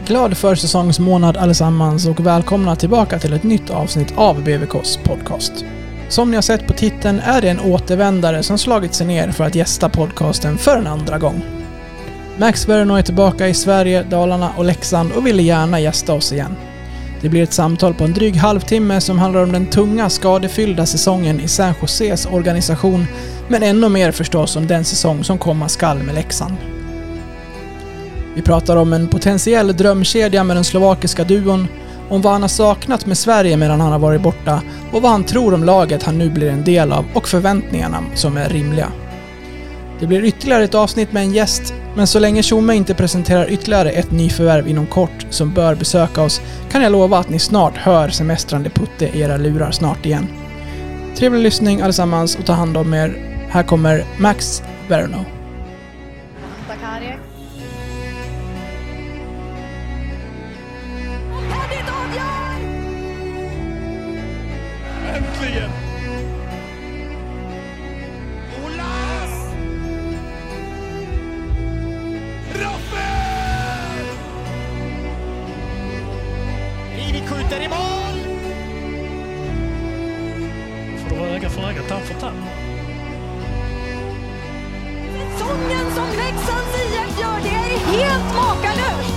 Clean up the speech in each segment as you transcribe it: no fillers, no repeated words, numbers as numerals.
Glad försäsongsmånad allesammans och välkomna tillbaka till ett nytt avsnitt av BVKs podcast. Som ni har sett på titeln är det en återvändare som slagit sig ner för att gästa podcasten för en andra gång. Max Verno är tillbaka i Sverige, Dalarna och Leksand och ville gärna gästa oss igen. Det blir ett samtal på en dryg halvtimme som handlar om den tunga, skadefyllda säsongen i San Joses organisation, men ännu mer förstås om den säsong som komma skall med Leksand. Vi pratar om en potentiell drömkedja med den slovakiska duon, om vad han har saknat med Sverige medan han har varit borta och vad han tror om laget han nu blir en del av och förväntningarna som är rimliga. Det blir ytterligare ett avsnitt med en gäst, men så länge Tjomme inte presenterar ytterligare ett nyförvärv inom kort som bör besöka oss kan jag lova att ni snart hör semestrande Putte i era lurar snart igen. Trevlig lyssning allesammans och ta hand om er. Här kommer Max Verno. Äntligen! Olas! Raffel! Rivi skjuter i mål! Får du öga för öga, tand för tand. Säsongen som Leksands IF gör, det är helt makalöst!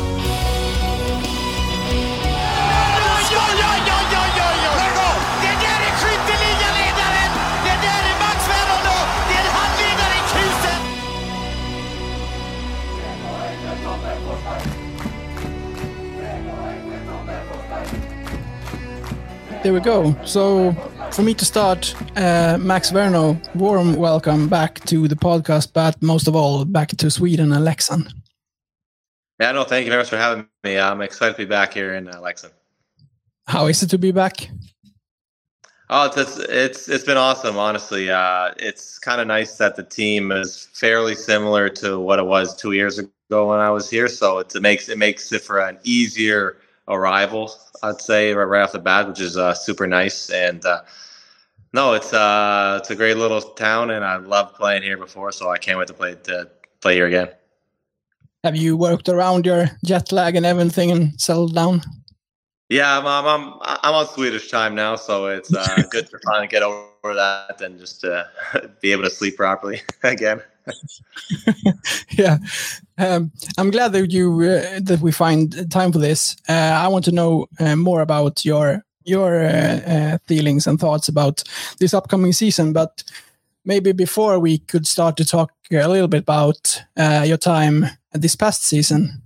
There we go. So, for me to start, Max Verno, warm welcome back to the podcast, but most of all, back to Sweden and Leksand. Yeah, no, thank you very much for having me. I'm excited to be back here in Leksand. How is it to be back? Oh, it's been awesome, honestly. It's kind of nice that the team is fairly similar to what it was 2 years ago when I was here, so it makes it for an easier arrival, I'd say, right off the bat, which is super nice. And no, it's a great little town, and I loved playing here before, so I can't wait to play here again. Have you worked around your jet lag and everything and settled down? Yeah, I'm on Swedish time now, so it's good to finally get over that and just be able to sleep properly again. Yeah, I'm glad that that we find time for this. I want to know more about your feelings and thoughts about this upcoming season, but maybe before we could start to talk a little bit about your time this past season.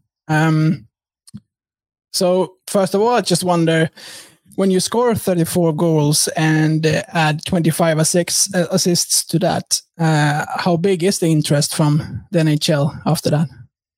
So first of all, I just wonder, when you score 34 goals and add 25 assists to that, how big is the interest from the NHL after that?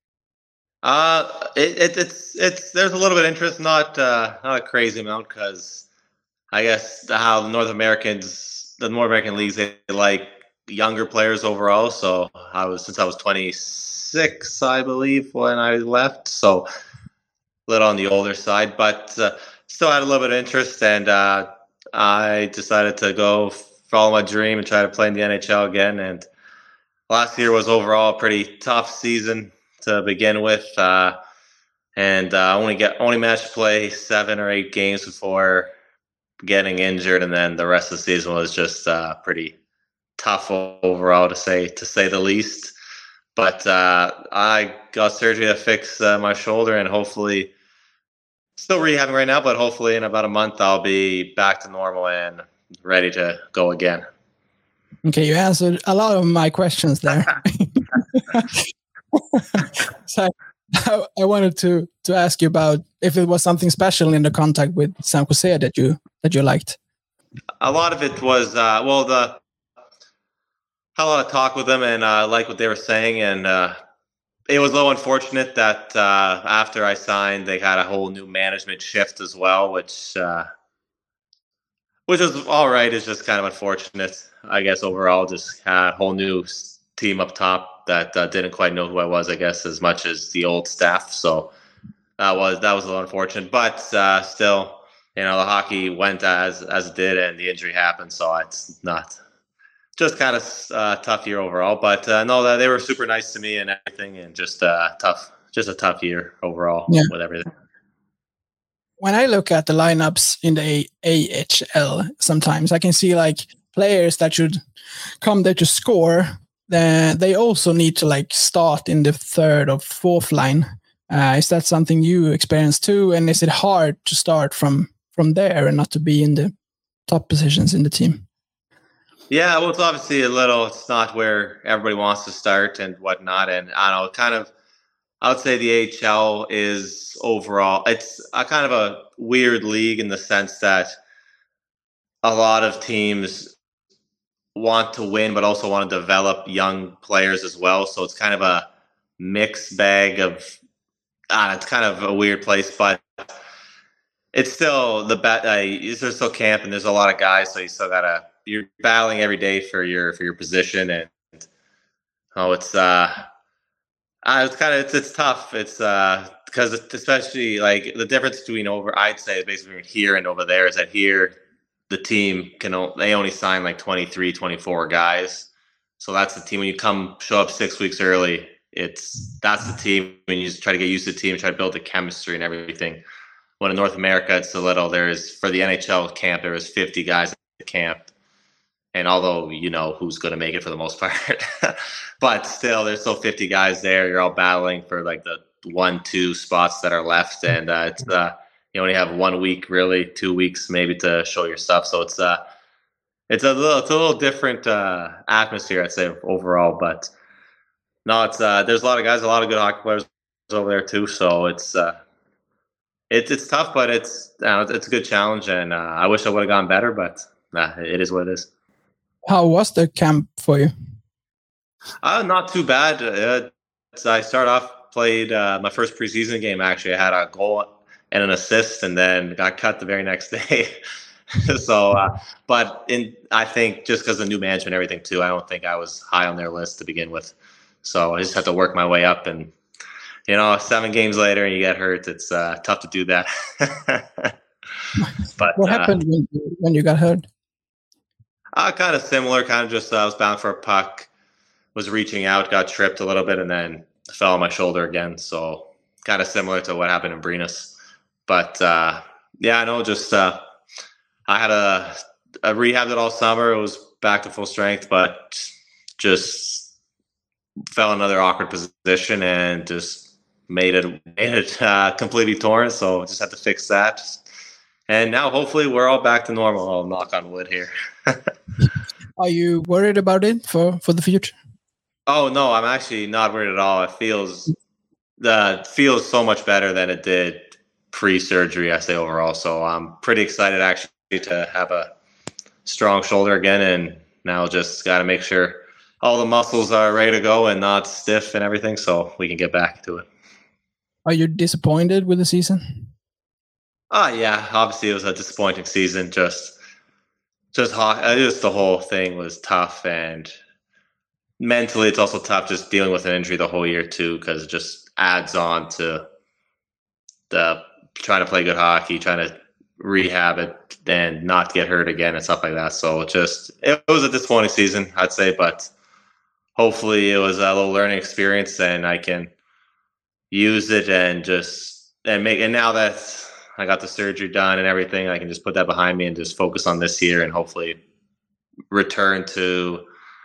It's there's a little bit of interest, not a crazy amount, because I guess how the North American leagues, they like younger players overall. So since I was 26, I believe, when I left, so a little on the older side, but still had a little bit of interest, and I decided to go follow my dream and try to play in the NHL again. And last year was overall a pretty tough season to begin with, and only managed to play 7 or 8 games before getting injured, and then the rest of the season was just pretty tough overall, to say the least. But I got surgery to fix my shoulder, and hopefully, still rehabbing right now, but hopefully in about a month I'll be back to normal and ready to go again. Okay, you answered a lot of my questions there. So I wanted to ask you about if it was something special in the contact with San Jose that you liked. A lot of it was had a lot of talk with them, and I liked what they were saying, and it was a little unfortunate that after I signed, they had a whole new management shift as well, which was all right. It's just kind of unfortunate, I guess, overall. Just had a whole new team up top that didn't quite know who I was, I guess, as much as the old staff. So that was a little unfortunate, but still, the hockey went as it did, and the injury happened, so it's not. Just kind of tough year overall, but no, they were super nice to me and everything, and just just a tough year overall with everything. When I look at the lineups in the AHL, sometimes I can see like players that should come there to score. They also need to like start in the third or fourth line. Is that something you experience too? And is it hard to start from there and not to be in the top positions in the team? Yeah, well, it's not where everybody wants to start and whatnot. And I don't know, I would say the AHL is overall, it's a kind of a weird league in the sense that a lot of teams want to win, but also want to develop young players as well. So it's kind of a mixed bag of, it's kind of a weird place, but it's still there's still camp and there's a lot of guys. So you still you're battling every day for your position. And it's tough. It's because especially like the difference between I'd say basically here and over there is that here the team they only sign like 23, 24 guys. So that's the team when you show up 6 weeks early. That's the team when you just try to get used to the team, try to build the chemistry and everything. When in North America, it's a little. For the NHL camp, there was 50 guys at the camp. And although you know who's going to make it for the most part, but still, there's still 50 guys there. You're all battling for like the 1-2 spots that are left, and you only have 1 week, really 2 weeks maybe to show your stuff. So it's a little different atmosphere, I'd say overall. But no, there's a lot of guys, a lot of good hockey players over there too. So it's tough, but it's a good challenge, and I wish I would have gone better, but it is what it is. How was the camp for you? Not too bad. I played my first preseason game. Actually, I had a goal and an assist, and then got cut the very next day. So, I think just because of the new management and everything too, I don't think I was high on their list to begin with. So I just had to work my way up, and 7 games later and you get hurt. It's tough to do that. But what happened when you got hurt? Kind of similar. Kind of just I was bound for a puck, was reaching out, got tripped a little bit, and then fell on my shoulder again. So kind of similar to what happened in Brynäs. But I know. Just I had a rehabbed it all summer. It was back to full strength, but just fell in another awkward position and just made it completely torn. So just had to fix that. And now hopefully we're all back to normal. I'll knock on wood here. Are you worried about it for the future? Oh, no, I'm actually not worried at all. It feels so much better than it did pre-surgery, I say overall. So I'm pretty excited actually to have a strong shoulder again. And now just got to make sure all the muscles are ready to go and not stiff and everything so we can get back to it. Are you disappointed with the season? Yeah, obviously it was a disappointing season. Just the whole thing was tough, and mentally it's also tough just dealing with an injury the whole year too, because it just adds on to the trying to play good hockey, trying to rehab it and not get hurt again and stuff like that. So it was a disappointing season, I'd say, but hopefully it was a little learning experience and I can use it and now that I got the surgery done and everything, I can just put that behind me and just focus on this year and hopefully return to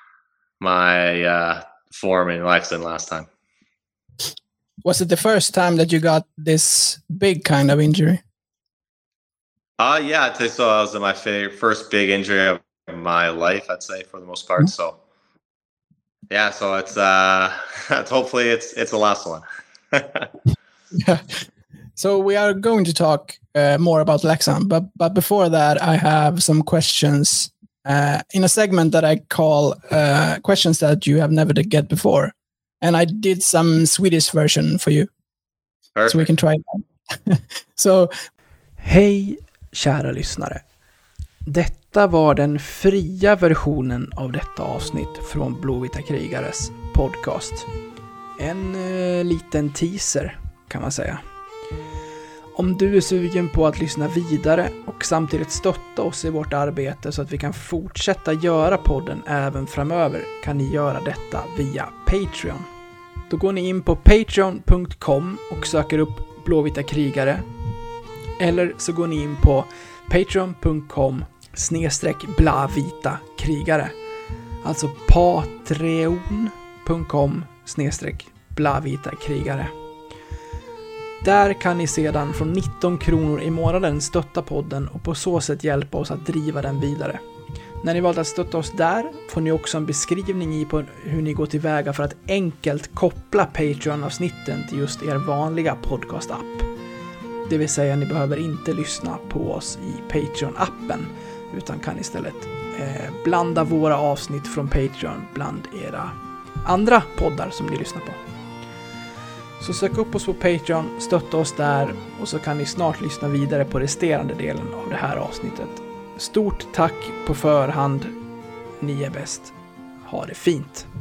my form in Lexington last time. Was it the first time that you got this big kind of injury? Yeah, I'd say so. That was my first big injury of my life, I'd say, for the most part. So, yeah, so it's hopefully it's the last one. Yeah. So we are going to talk more about Leksand, but before that, I have some questions in a segment that I call questions that you have never get before. And I did some Swedish version for you. Perfect. So we can try that. So, hej kära lyssnare. Detta var den fria versionen av detta avsnitt från Blåvita krigares podcast. En liten teaser kan man säga. Om du är sugen på att lyssna vidare och samtidigt stötta oss i vårt arbete så att vi kan fortsätta göra podden även framöver kan ni göra detta via Patreon. Då går ni in på patreon.com och söker upp Blåvita krigare. Eller så går ni in på patreon.com/blavita krigare. Alltså patreon.com/blavita krigare. Där kan ni sedan från 19 kronor i månaden stötta podden och på så sätt hjälpa oss att driva den vidare. När ni valt att stötta oss där får ni också en beskrivning i på hur ni går tillväga för att enkelt koppla Patreon-avsnitten till just er vanliga podcast-app. Det vill säga ni behöver inte lyssna på oss i Patreon-appen utan kan istället blanda våra avsnitt från Patreon bland era andra poddar som ni lyssnar på. Så sök upp oss på Patreon, stötta oss där och så kan ni snart lyssna vidare på resterande delen av det här avsnittet. Stort tack på förhand. Ni är bäst. Ha det fint.